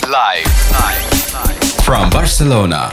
Live from Barcelona.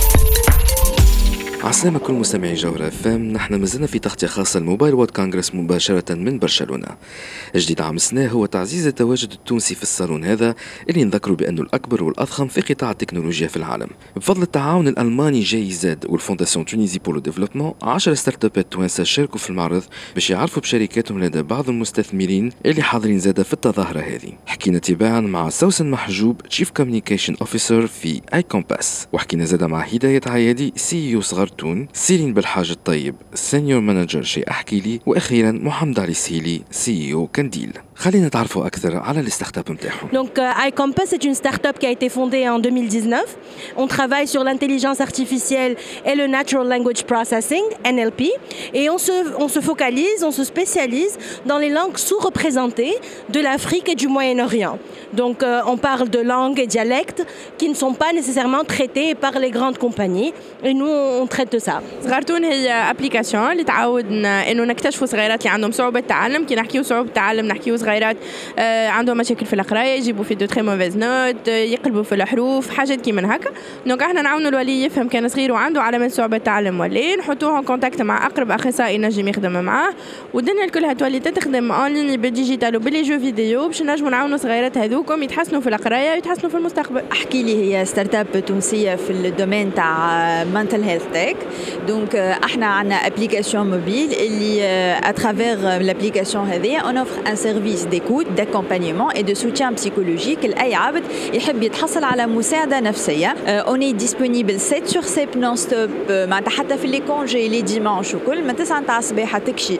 عسلامة كل مستمعي جوهرة فام. نحن مازلنا في تغطية خاصة الموبايل وورد كونغرس مباشرة من برشلونة. جديد عمسناه هو تعزيز التواجد التونسي في الصالون هذا اللي نذكروا بأنه الأكبر والأضخم في قطاع التكنولوجيا في العالم. بفضل التعاون الألماني جي زد والفونداسيون تونيزي بولو ديفلوبمون 10 ستارت ابات توانسة شاركوا في المعرض باش يعرفوا بشركاتهم لدى بعض المستثمرين اللي حاضرين زادة في التظاهرة هذه. حكينا تباعا مع سوسن محجوب تشيف كوميونيكيشن اوفيسر في اي كومباس، وحكينا زادة مع هداية عيادي سي او صغرتون، سيرين بالحاج الطيب سينيور مانجر شي احكي لي، واخيرا محمد علي سهيلي سي او كنديل. خلينا نتعرفوا اكثر على الستارت-up نتاعهم. Donc iCompass c'est une start-up qui a été fondée en 2019. On travaille sur l'intelligence artificielle et le natural language processing NLP et on se focalise, on se spécialise dans les langues sous-représentées de l'Afrique et du Moyen-Orient. Donc on parle de langues et dialectes qui ne sont pas nécessairement traités par les grandes compagnies et nous on traite de ça. صغرتون هي ابليكاسيون اللي تعاودنا انه نكتشفوا صغيرات اللي عندهم صعوبه تعلم. كي نحكيو صعوبه تعلم نحكيو صغيرات عندهم مشاكل في القرايه، يجيبوا في دو تري موفيز نوت، يقلبوا في الحروف، حاجات كي من هكا. دونك احنا نعاونوا الولي يفهم كان صغير وعنده علامات صعوبه تعلم ولا نحطوه كونتاكت مع اقرب اخصائي نجم يخدم معاه، والدنيا الكلها تولي تخدم اون لين بالديجيتال وباللي جو فيديو باش نجموا نعاونوا صغيرات هذوكم يتحسنوا في القرايه ويتحسنوا في المستقبل. احكي لي هي ستارت اب تونسيه في الدومين تاع منتل هيلث تك. دونك احنا عندنا ابليكاسيون موبيل اللي اترافير لابليكاسيون هذه اون اوفر ان سيرفيس ديكوت d'accompagnement et de soutien psychologique لأي عبد يحب يتحصل على مساعدة نفسية. On est disponible 7 sur 7 non-stop معناتها حتى في لي كونجي لي ديمانش وكل من 9 تاع الصباح تكشي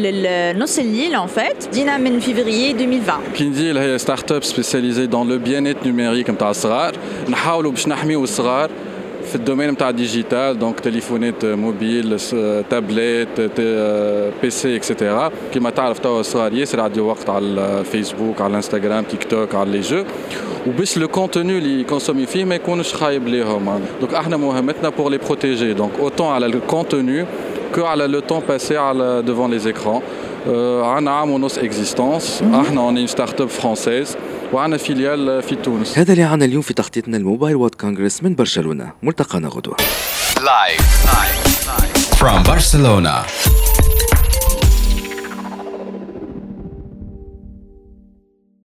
لنص الليل en fait. دينا من فيفريي 2020. كنديل هي ستارت اب سبيسياليزي دون لو بيانيت نيميريك نتاع الصغار. نحاولوا باش نحميو الصغار في الدومين نتاع الديجيتال، دونك تليفونات موبيل، تابلت، بي سي اكسيتيرا. كيما تعرف توا الصغار ياسر عندي وقت على الفيسبوك، على الانستغرام، تيك توك، على لي جو، وباش لو كونتوني اللي يكونسومي فيه ما يكونش خايب ليهم. دونك احنا مهمتنا بور لي بروتيجي، دونك اوتون على الكونتوني كو على لو طون باسي على ديفون لي ايكران. عندنا عام ونص اكزيستونس، احنا اون ستارت اب فرانسيز وعنا فيليال في تونس. هذا اللي عنا اليوم في تغطيتنا الموبايل وورد كونغرس من برشلونة. ملتقانا غدوة. Live from Barcelona.